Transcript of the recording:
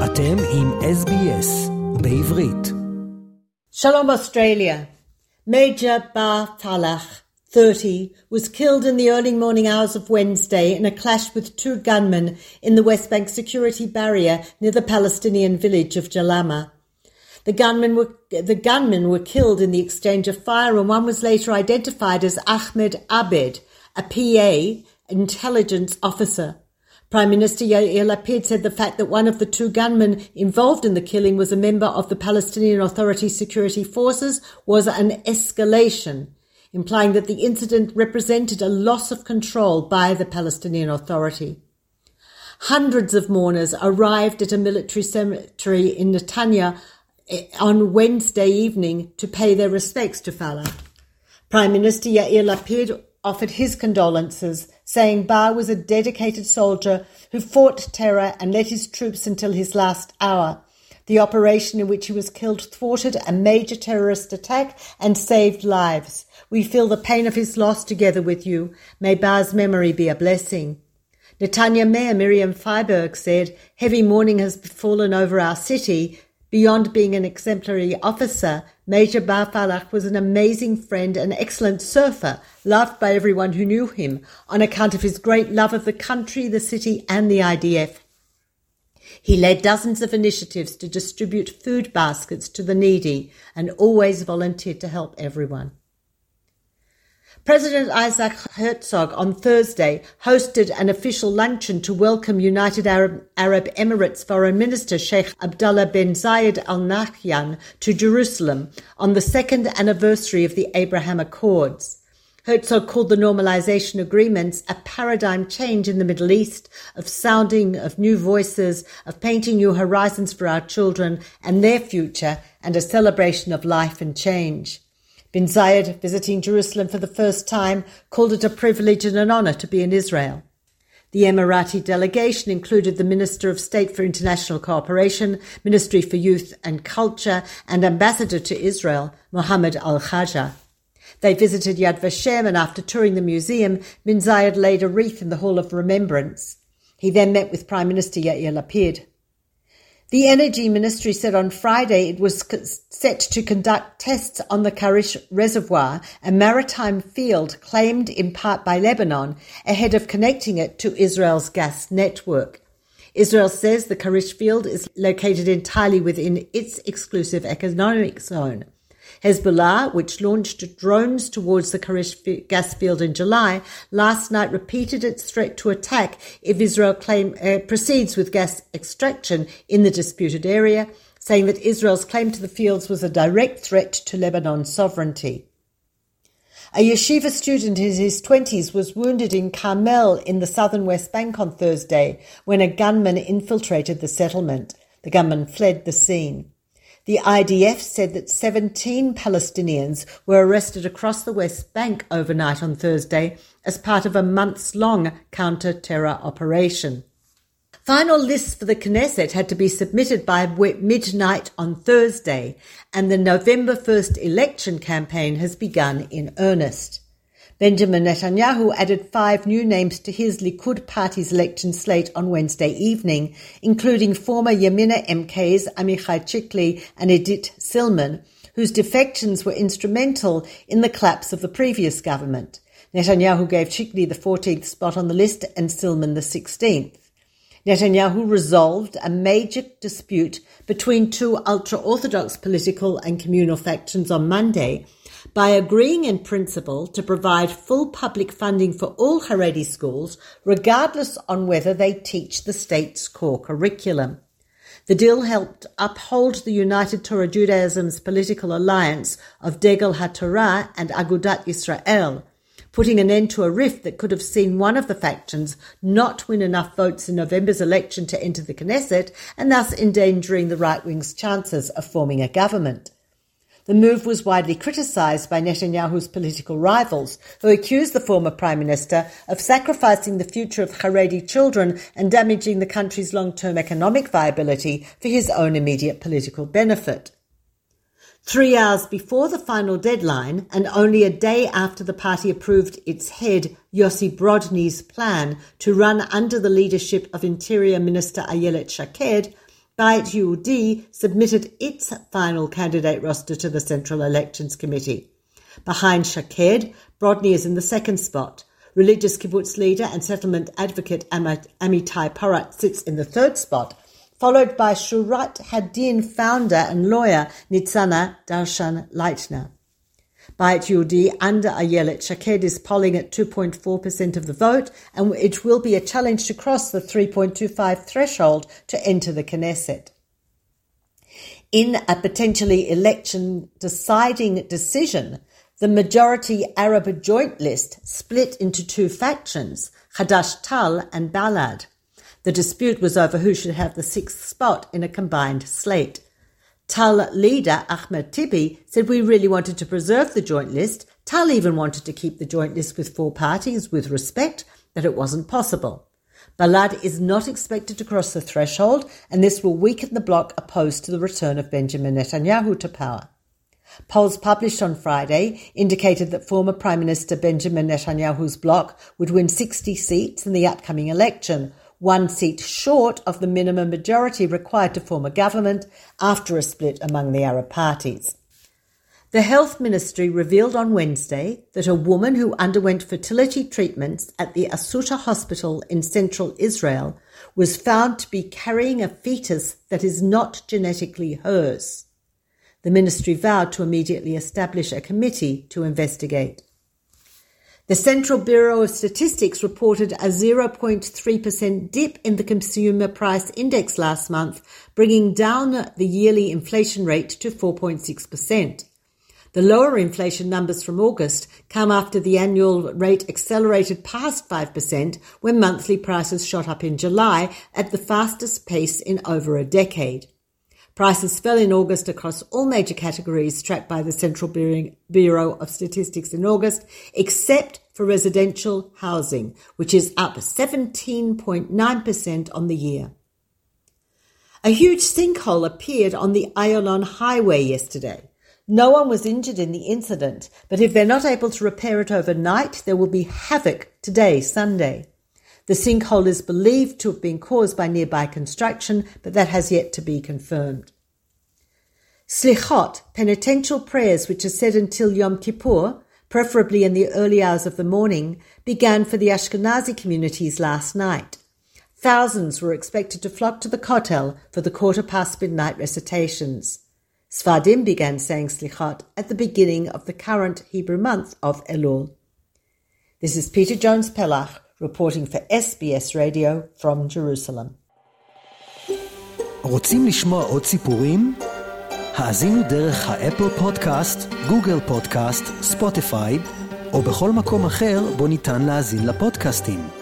אתם עם SBS בעברית. Shalom Australia. Major Bar Falach, 30, was killed in the early morning hours of Wednesday in a clash with two gunmen in the West Bank security barrier near the Palestinian village of Jalama. The gunmen were killed in the exchange of fire, and one was later identified as Ahmed Abed, a PA, intelligence officer. Prime Minister Yair Lapid said the fact that one of the two gunmen involved in the killing was a member of the Palestinian Authority security forces was an escalation, implying that the incident represented a loss of control by the Palestinian Authority. Hundreds of mourners arrived at a military cemetery in Netanya on Wednesday evening to pay their respects to Falach. Prime Minister Yair Lapid offered his condolences, saying Bar was a dedicated soldier who fought terror and led his troops until his last hour. The operation in which he was killed thwarted a major terrorist attack and saved lives. We feel the pain of his loss together with you. May Bar's memory be a blessing. Netanya Mayor Miriam Freiberg said, heavy mourning has fallen over our city. Beyond being an exemplary officer, Major Bar Falach was an amazing friend and excellent surfer, loved by everyone who knew him, on account of his great love of the country, the city and the IDF. He led dozens of initiatives to distribute food baskets to the needy and always volunteered to help everyone. President Isaac Herzog on Thursday hosted an official luncheon to welcome United Arab Emirates Foreign Minister Sheikh Abdullah bin Zayed Al Nahyan to Jerusalem on the second anniversary of the Abraham Accords. Herzog called the normalization agreements a paradigm change in the Middle East, of sounding of new voices, of painting new horizons for our children and their future, and a celebration of life and change. Bin Zayed, visiting Jerusalem for the first time, called it a privilege and an honor to be in Israel. The Emirati delegation included the Minister of State for International Cooperation, Ministry for Youth and Culture, and Ambassador to Israel, Mohammed Al-Khaja. They visited Yad Vashem, and after touring the museum, Bin Zayed laid a wreath in the Hall of Remembrance. He then met with Prime Minister Yair Lapid. The Energy Ministry said on Friday it was set to conduct tests on the Karish Reservoir, a maritime field claimed in part by Lebanon, ahead of connecting it to Israel's gas network. Israel says the Karish field is located entirely within its exclusive economic zone. Hezbollah, which launched drones towards the Karish gas field in July, last night repeated its threat to attack if Israel proceeds with gas extraction in the disputed area, saying that Israel's claim to the fields was a direct threat to Lebanon's sovereignty. A yeshiva student in his 20s was wounded in Carmel in the southern West Bank on Thursday when a gunman infiltrated the settlement. The gunman fled the scene. The IDF said that 17 Palestinians were arrested across the West Bank overnight on Thursday as part of a months-long counter-terror operation. Final lists for the Knesset had to be submitted by midnight on Thursday, and the November 1st election campaign has begun in earnest. Benjamin Netanyahu added 5 new names to his Likud party's election slate on Wednesday evening, including former Yamina MKs Amichai Chikli and Edith Silman, whose defections were instrumental in the collapse of the previous government. Netanyahu gave Chikli the 14th spot on the list and Silman the 16th. Netanyahu resolved a major dispute between two ultra-Orthodox political and communal factions on Monday by agreeing in principle to provide full public funding for all Haredi schools, regardless on whether they teach the state's core curriculum. The deal helped uphold the United Torah Judaism's political alliance of Degel HaTorah and Agudat Yisrael, putting an end to a rift that could have seen one of the factions not win enough votes in November's election to enter the Knesset and thus endangering the right-wing's chances of forming a government. The move was widely criticised by Netanyahu's political rivals, who accused the former Prime Minister of sacrificing the future of Haredi children and damaging the country's long-term economic viability for his own immediate political benefit. 3 hours before the final deadline, and only a day after the party approved its head, Yossi Brodny's plan to run under the leadership of Interior Minister Ayelet Shaked, Bayit Yehudi submitted its final candidate roster to the Central Elections Committee. Behind Shaked, Brodny is in the second spot. Religious kibbutz leader and settlement advocate Amitai Porat sits in the third spot, followed by Shurat Hadin founder and lawyer Nitzana Darshan Leitner. Bayit Yehudi under Ayelet Shaked is polling at 2.4% of the vote, and it will be a challenge to cross the 3.25 threshold to enter the Knesset. In a potentially election-deciding decision, the majority Arab joint list split into two factions, Hadash-Tal and Balad. The dispute was over who should have the sixth spot in a combined slate. Tal leader Ahmed Tibi said we really wanted to preserve the joint list. Tal even wanted to keep the joint list with four parties with respect, but it wasn't possible. Balad is not expected to cross the threshold, and this will weaken the bloc opposed to the return of Benjamin Netanyahu to power. Polls published on Friday indicated that former Prime Minister Benjamin Netanyahu's bloc would win 60 seats in the upcoming election, 1 seat short of the minimum majority required to form a government after a split among the Arab parties. The Health Ministry revealed on Wednesday that a woman who underwent fertility treatments at the Asuta Hospital in central Israel was found to be carrying a fetus that is not genetically hers. The ministry vowed to immediately establish a committee to investigate. The Central Bureau of Statistics reported a 0.3% dip in the Consumer Price Index last month, bringing down the yearly inflation rate to 4.6%. The lower inflation numbers from August come after the annual rate accelerated past 5% when monthly prices shot up in July at the fastest pace in over a decade. Prices fell in August across all major categories tracked by the Central Bureau of Statistics in August, except for residential housing, which is up 17.9% on the year. A huge sinkhole appeared on the Ayalon Highway yesterday. No one was injured in the incident, but if they're not able to repair it overnight, there will be havoc today, Sunday. The sinkhole is believed to have been caused by nearby construction, but that has yet to be confirmed. Slichot, penitential prayers which are said until Yom Kippur, preferably in the early hours of the morning, began for the Ashkenazi communities last night. Thousands were expected to flock to the Kotel for the midnight midnight recitations. Sfardim began saying Slichot at the beginning of the current Hebrew month of Elul. This is Peter Jones-Pellach, reporting for SBS Radio from Jerusalem. רוצים לשמוע עוד סיפורים? האזינו דרך האפל פודקאסט, גוגל פודקאסט, ספוטיפיי, או בכל מקום אחר בו ניתן להאזין לפודקאסטים.